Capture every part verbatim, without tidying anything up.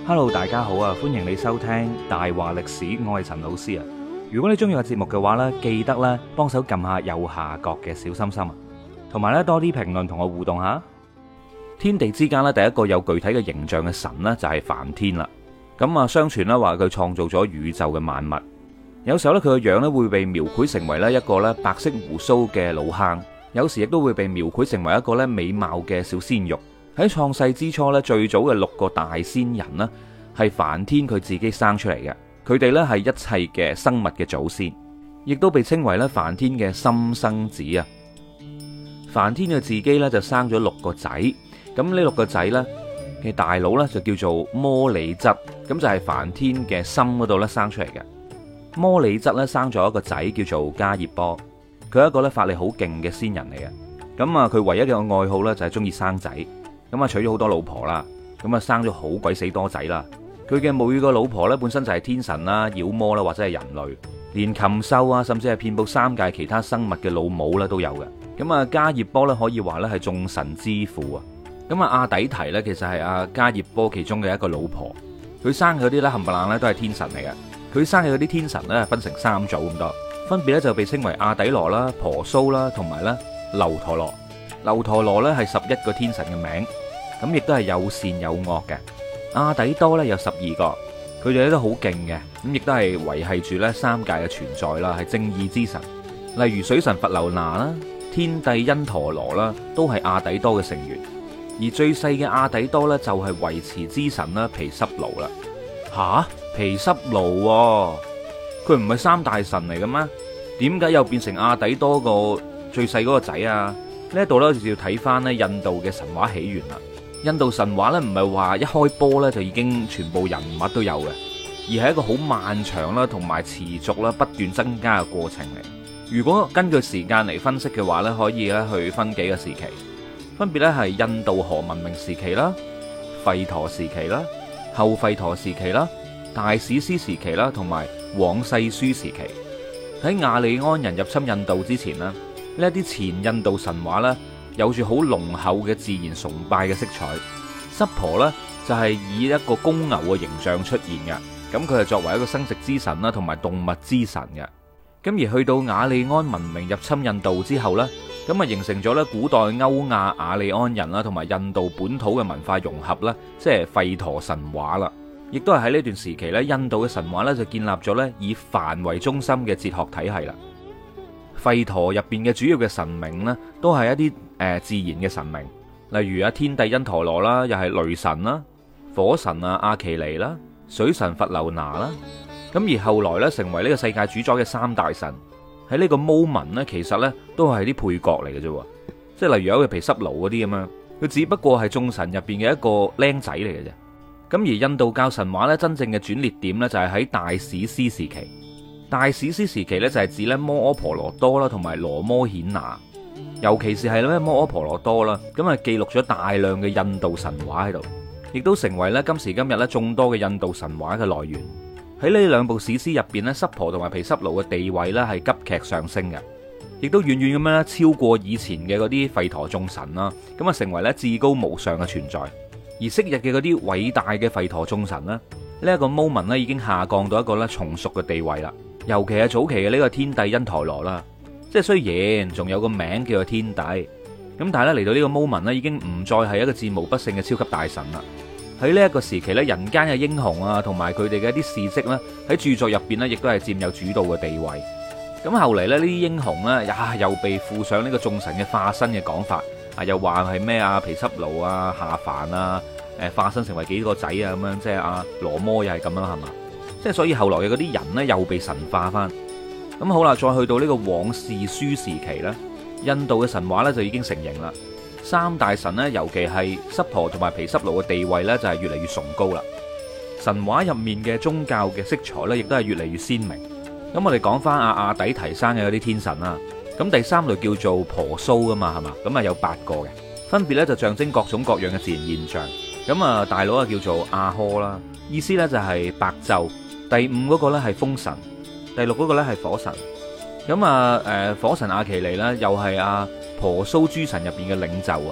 Hello，大家好啊！歡迎你收聽大話歷史，我係陳老師啊。如果你中意個節目嘅話呢，記得咧幫手撳下右下角嘅小心心啊，同埋咧多啲評論同我互動下。天地之間咧，第一個有具體嘅形象嘅神呢，就係梵天啦。咁啊，相傳咧話佢創造咗宇宙嘅萬物。有時候咧佢個樣咧會被描繪成為咧一個咧白色鬍鬚嘅老坑，有時亦都會被描繪成為一個咧美貌嘅小鮮肉。喺創世之初咧，最早嘅六個大仙人呢，係梵天佢自己生出嚟嘅。佢哋呢係一切嘅生物嘅祖先，亦都被稱為咧梵天嘅心生子啊。梵天佢自己呢就生咗六個仔，咁呢六個仔呢嘅大佬呢就叫做摩里質，咁就係梵天嘅心嗰度咧生出嚟嘅。摩里質咧生咗一個仔叫做迦葉波，佢係一個咧法力好勁嘅仙人嚟嘅。咁啊，佢唯一嘅愛好呢就係中意生仔。咁啊，娶咗好多老婆啦，咁啊生咗好鬼死多仔啦。佢嘅每個老婆咧本身就係天神啦、妖魔啦或者係人類，連禽獸啊，甚至係遍佈三界其他生物嘅老母咧都有嘅。咁啊，迦葉波咧可以話咧係眾神之父啊。咁啊，阿底提咧其實係阿迦葉波其中嘅一個老婆，佢生嘅嗰啲咧冚唪唥咧都係天神嚟嘅。佢生嘅嗰啲天神咧分成三組咁多，分別咧就被稱為阿底羅啦、婆蘇啦同埋咧樓陀羅。樓陀羅咧係十一個天神嘅名。咁亦都係有善有惡嘅。阿底多咧有十二個，佢哋咧都好勁嘅，咁亦都係維繫住咧三界嘅存在啦，係正義之神。例如水神佛留那啦、天帝因陀羅啦，都係阿底多嘅成員。而最細嘅阿底多咧就係維持之神啦，毗濕奴啦。吓，毗濕奴喎，佢唔係三大神嚟嘅咩？點解又變成阿底多個最細嗰個仔啊？呢一度咧就要睇翻咧印度嘅神話起源啦。印度神話咧唔係話一開波咧就已經全部人物都有嘅，而係一個好漫長啦，同埋持續啦不斷增加嘅過程嚟。如果根據時間嚟分析嘅話咧，可以咧去分幾個時期，分別咧係印度河文明時期啦、吠陀時期啦、後吠陀時期啦、大史詩時期啦，同埋往世書時期。喺亞利安人入侵印度之前呢，呢一啲前印度神話咧，有住好濃厚嘅自然崇拜嘅色彩。濕婆呢，就係以一個公牛嘅形象出現嘅，咁佢係作為一個生殖之神啦，同埋動物之神嘅。咁而去到雅利安文明入侵印度之後呢，咁啊形成咗咧古代歐亞雅利安人啦，同埋印度本土嘅文化融合啦，即係吠陀神話啦。亦都係喺呢段時期咧，印度嘅神話咧就建立咗咧以梵為中心嘅哲學體系啦。吠陀入邊嘅主要嘅神明呢，都係一啲誒自然嘅神明，例如啊天帝因陀羅啦，又係雷神啦；火神啊阿奇尼啦；水神佛留那啦。咁而後來咧成為呢個世界主宰嘅三大神，喺呢個 moment 呢，其實呢都係啲配角嚟嘅啫，即係例如有個毗濕奴嗰啲咁樣，佢只不過係眾神入邊嘅一個僆仔嚟嘅啫。咁而印度教神話咧真正嘅轉捩點呢，就係喺大史詩時期。大史詩時期咧就係指咧摩訶婆羅多啦，同埋羅摩衍那，尤其是係咧摩訶婆羅多啦，咁啊記錄咗大量嘅印度神話喺度，亦都成為咧今時今日咧眾多嘅印度神話嘅來源。喺呢兩部史詩入邊咧，濕婆同埋毗濕奴嘅地位咧係急劇上升嘅，亦都遠遠咁樣超過以前嘅嗰啲吠陀眾神啦，咁啊成為咧至高無上嘅存在。而昔日嘅嗰啲偉大嘅吠陀眾神咧，呢一個 moment 咧已經下降到一個咧從屬嘅地位啦。尤其係早期嘅呢個天帝因陀羅啦，即係雖然仲有個名叫做天帝，咁但係咧嚟到呢個 moment 咧，已經唔再係一個戰無不勝嘅超級大神啦。喺呢一個時期咧，人間嘅英雄啊，同埋佢哋嘅一啲事蹟咧，喺著作入邊咧，亦都係佔有主導嘅地位。咁後嚟咧，呢啲英雄咧，呀又被附上呢個眾神嘅化身嘅講法，啊又話係咩啊毗濕奴啊下凡啊，誒化身成為幾個仔啊咁樣，即係阿羅摩又係咁樣係嘛？即係所以後來嘅嗰啲人呢，又被神化翻。咁好啦，再去到呢個往世書時期呢，印度嘅神話呢就已經成型啦。三大神呢，尤其係濕婆同埋毗濕奴嘅地位呢，就係越嚟越崇高啦。神話入面嘅宗教嘅色彩呢，亦都係越嚟越鮮明。咁我哋講翻阿阿底提生嘅嗰啲天神啦。咁第三類叫做婆蘇噶嘛，係嘛？咁啊有八個嘅，分別呢就象徵各種各樣嘅自然現象。咁啊大佬啊叫做阿訶啦，意思呢就係白晝。第五嗰個咧係風神，第六嗰個咧係火神。咁啊，誒，火神阿奇尼咧又係阿婆蘇諸神入邊嘅領袖啊。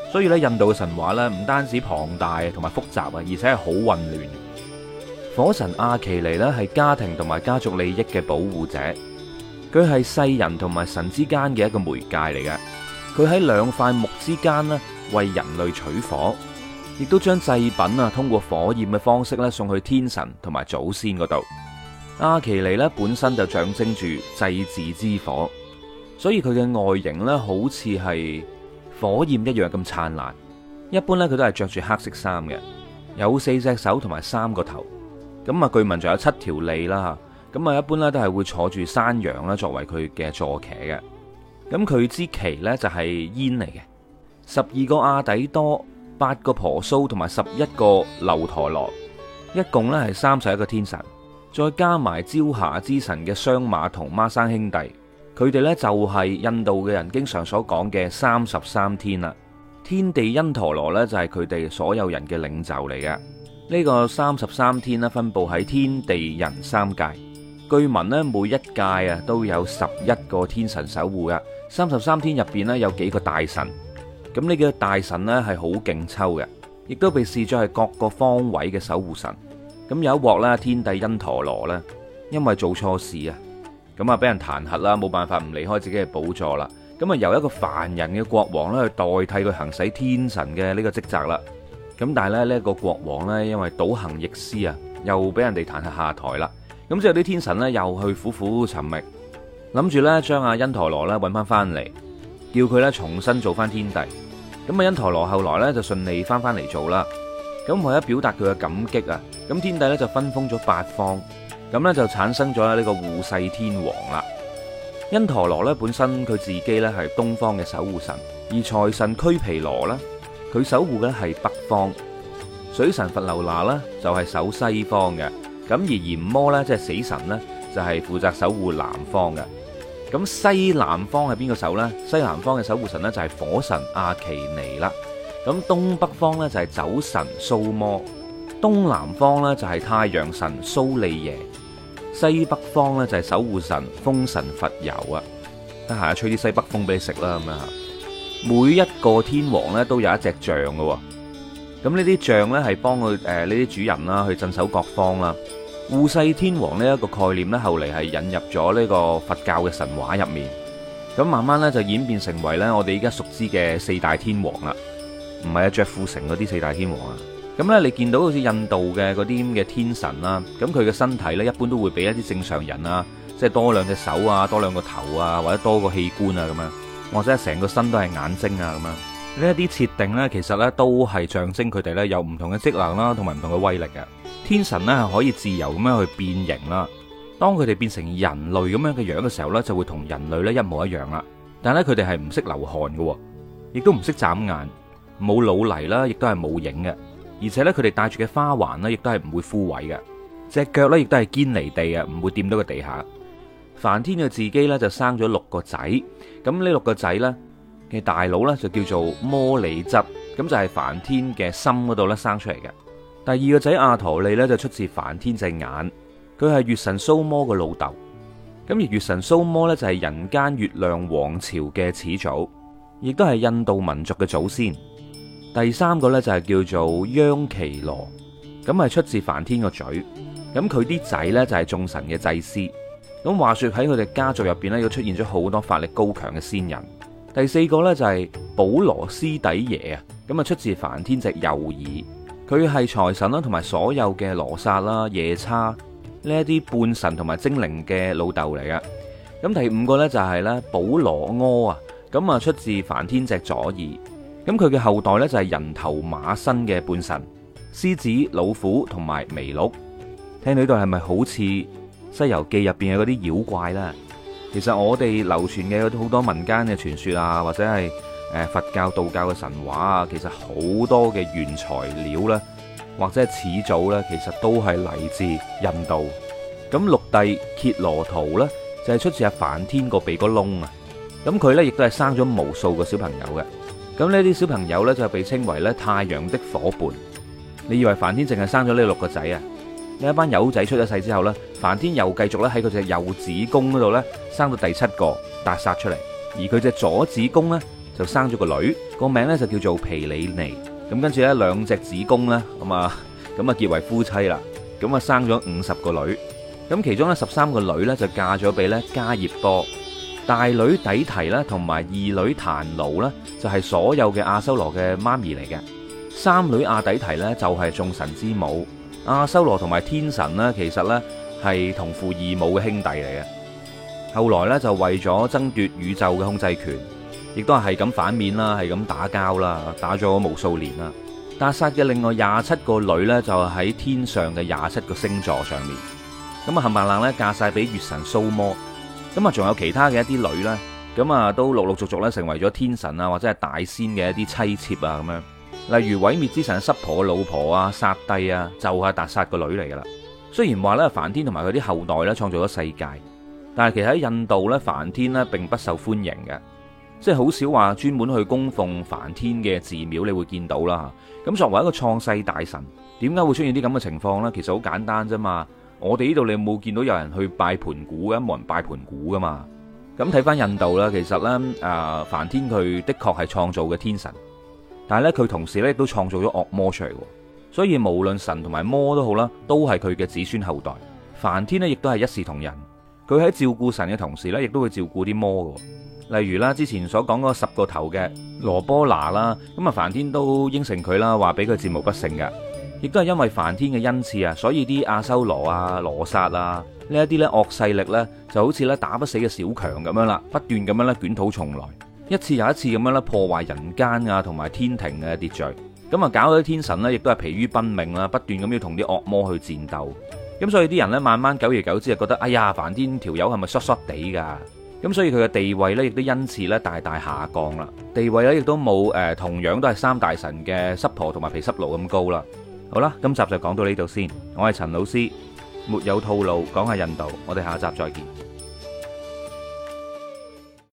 所以咧，印度嘅神話咧唔單止龐大同埋複雜啊，而且係好混亂。火神阿耆尼咧係家庭同埋家族利益嘅保護者，佢係世人同埋神之間嘅一個媒介嚟嘅。佢喺兩塊木之間咧為人類取火，亦都將祭品啊通過火焰嘅方式咧送去天神同埋祖先嗰度。阿耆尼咧本身就象徵住祭祀之火，所以佢嘅外形咧好似係火焰一樣咁燦爛。一般咧佢都係着住黑色衫嘅，有四隻手同埋三個頭。咁啊，據聞仲有七條脷啦。咁啊，一般咧都係會坐住山羊啦，作為佢嘅坐騎嘅。咁佢支旗咧就係煙嚟嘅。十二個阿底多，八個婆蘇同埋十一個樓陀羅，一共咧係三十一個天神。再加埋朝霞之神嘅雙馬同孖生兄弟，佢哋呢就係印度嘅人經常所講嘅三十三天啦。天地因陀羅呢就係佢哋所有人嘅領袖嚟嘅。呢個三十三天呢分布喺天地人三界，據聞呢每一界啊都有十一個天神守護噶。三十三天入邊呢有幾個大神，咁呢幾個大神呢係好勁抽嘅，亦都被視作係各個方位嘅守護神。咁有一鑊啦，天帝因陀羅咧，因為做錯事啊，咁啊俾人彈劾啦，冇辦法唔離開自己嘅寶座啦。咁啊由一個凡人嘅國王咧去代替佢行使天神嘅呢個職責啦。咁但係咧呢一個國王咧，因為倒行逆施啊，又俾人哋彈劾下台啦。咁之後啲天神咧又去苦苦尋覓，諗住咧將阿因陀羅咧揾翻翻嚟，叫佢咧重新做翻天帝。咁啊因陀羅後來咧就順利翻翻嚟做啦。咁為咗表達佢嘅感激啊，咁天帝咧就分封咗八方，咁咧就產生咗呢個護世天王啦。因陀羅咧本身佢自己咧係東方嘅守護神，而財神拘毗羅咧佢守護嘅係北方，水神佛流那咧就係守西方嘅，咁而閻魔咧即係死神咧就係負責守護南方嘅。咁西南方係邊個守呢？西南方嘅守護神咧就係火神阿耆尼啦。咁東北方咧就係酒神蘇摩，東南方咧就係太陽神蘇利耶，西北方咧就係守護神風神佛柔啊。得閒吹啲西北風俾你食啦咁樣。每一個天王咧都有一隻象嘅，咁呢啲象咧係幫佢誒呢啲主人啦去鎮守各方啦。護世天王呢一個概念咧後嚟係引入咗呢個佛教嘅神話入面，咁慢慢咧就演變成為咧我哋依家熟知嘅四大天王啦。唔係啊，着富城嗰啲四大天王啊，咁呢，你見到好似印度嘅嗰啲咁嘅天神啦，咁佢嘅身體呢，一般都會比一啲正常人啊，即係多兩隻手啊，多兩個頭啊，或者多個器官啊咁樣，或者成個身都係眼睛啊咁樣。呢一啲設定呢，其實呢都係象徵佢哋呢有唔同嘅職能啦，同埋唔同嘅威力嘅。天神呢係可以自由咁樣去變形啦，當佢哋變成人類咁樣嘅樣嘅時候呢，就會同人類呢一模一樣啦。但係咧佢哋係唔識流汗嘅，亦都唔識眨眼。冇老泥啦，亦都係冇影嘅，而且咧佢哋戴住嘅花環咧，亦都係唔會枯萎嘅，隻腳咧亦都係堅離地啊，唔會掂到個地下。梵天佢自己咧就生咗六個仔，咁呢六個仔咧嘅大佬咧就叫做摩里執，咁就係梵天嘅心嗰度咧生出嚟嘅。第二個仔阿陀利咧就出自梵天隻眼，佢係月神蘇摩嘅老豆，咁而月神蘇摩咧就係人間月亮王朝嘅始祖，亦都係印度民族嘅祖先。第三個呢，就係叫做央奇羅，咁係出自梵天個嘴，咁佢啲仔呢，就係眾神嘅祭司。咁話說喺佢哋家族入邊呢，又出現咗好多法力高強嘅仙人。第四個呢，就係保羅斯底耶啊，咁啊出自梵天隻右耳，佢係財神啦，同埋所有嘅羅剎啦、夜叉呢一啲半神同埋精靈嘅老豆嚟嘅。咁第五個呢，就係咧保羅柯啊，咁啊出自梵天隻左耳。咁佢嘅後代呢，就係人頭馬身嘅半神，獅子、老虎同埋麋鹿。聽到呢度係咪好似《西遊記》入邊嘅嗰啲妖怪呢？其實我哋流傳嘅好多民間嘅傳說啊，或者係誒佛教、道教嘅神話啊，其實好多嘅原材料呢，或者係始祖呢，其實都係嚟自印度。咁六弟羯羅圖呢，就係出自阿梵天個鼻哥窿啊。咁佢呢，亦都係生咗無數個小朋友嘅。咁呢啲小朋友呢，就被稱為咧太陽的伙伴。你以為梵天淨係生咗呢六個仔啊？呢一班友仔出咗世之後呢，梵天又繼續咧喺佢隻右子宮嗰度呢，生到第七個達薩出嚟，而佢隻左子宮呢， 就生咗個女，個名咧就叫做皮里尼。咁跟住咧兩隻子宮咧咁啊咁啊結為夫妻啦。咁啊生咗五十個女。咁其中咧十三個女咧就嫁咗俾咧加葉多。大女底提咧同埋二女檀奴咧就係所有嘅阿修羅嘅媽咪嚟嘅。三女阿底提咧就係眾神之母。阿修羅同埋天神咧其實咧係同父異母嘅兄弟嚟嘅。後來咧就為咗爭奪宇宙嘅控制權，亦都係咁反面啦，係咁打交啦，打咗無數年啦。達薩嘅另外廿七個女呢，就喺天上嘅廿七個星座上面。咁啊冚唪唥咧嫁晒俾月神蘇摩。咁啊仲有其他嘅一啲女呢，咁啊都陸陸續續咧成為咗天神啊或者係大仙嘅一啲妻妾啊咁樣。例如毀滅之神濕婆嘅老婆啊薩帝啊，就係達薩個女嚟噶啦。雖然話咧梵天同埋佢啲後代咧創造咗世界，但係其實喺印度咧梵天咧並不受歡迎嘅，即係好少話專門去供奉梵天嘅寺廟你會見到啦。咁作為一個創世大神，點解會出現啲咁嘅情況呢？其實好簡單啫嘛。我哋呢度你有冇見到有人去拜盤古嘅？冇人拜盤古噶嘛。咁睇翻印度啦，其實咧誒梵天佢的確係創造嘅天神，但係咧佢同時咧亦都創造咗惡魔出嚟。所以無論神同埋魔都好啦，都係佢嘅子孫後代。梵天呢亦都係一視同仁，佢喺照顧神嘅同時呢，亦都會照顧啲魔嘅。例如啦，之前所講嗰十個頭嘅羅波那啦，咁啊梵天都應承佢啦，話俾佢戰無不勝嘅。亦都係因為梵天嘅恩賜啊，所以啲阿修羅啊、羅剎啊呢一啲咧惡勢力呢，就好似咧打不死嘅小強咁樣啦，不斷咁樣咧捲土重來，一次又一次咁樣咧破壞人間啊同埋天庭嘅秩序。咁啊，搞到啲天神呢，亦都係疲於奔命啦，不斷咁要同啲惡魔去戰鬥。咁所以啲人呢，慢慢久而久之就覺得，哎呀，梵天條友係咪衰衰地噶？咁所以佢嘅地位呢，亦都因此咧大大下降啦。地位咧亦都冇誒，同樣都係三大神嘅濕婆同埋毗濕奴咁高啦。好啦，今集就講到呢度先。我係陳老師，沒有套路講下印度，我哋下集再見。